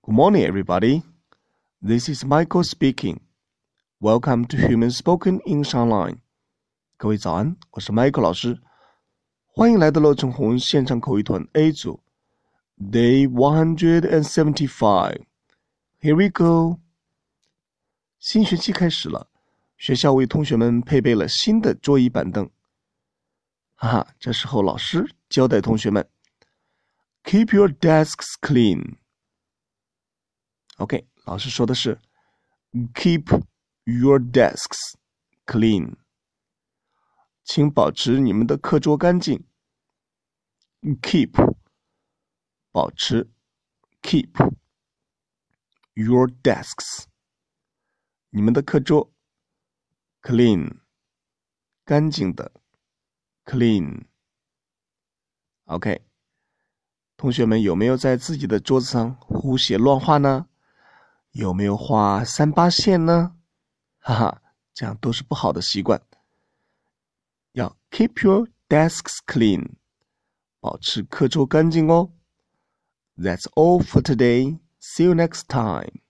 Good morning, everybody. This is Michael speaking. Welcome to Human Spoken English Online. 各位早安，我是 Michael 老师，欢迎来到乐成红线上口语团 A 组 Day 175. Here we go. 新学期开始了，学校为同学们配备了新的桌椅板凳。这时候老师交代同学们 Keep your desks clean.OK, 老师说的是 Keep your desks clean. 请保持你们的课桌干净。Keep 保持 Keep your desks 你们的课桌 clean 干净的 clean. OK, 同学们有没有在自己的桌子上胡写乱画呢？有没有画3-8线呢？这样都是不好的习惯。要 keep your desks clean. 保持课桌干净哦。That's all for today. See you next time.